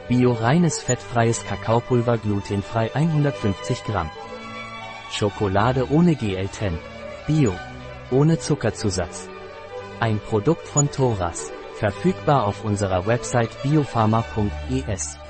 Bio reines fettfreies Kakaopulver glutenfrei 150 Gramm. Schokolade ohne GL10. Bio. Ohne Zuckerzusatz. Ein Produkt von Thoras. Verfügbar auf unserer Website biopharma.es.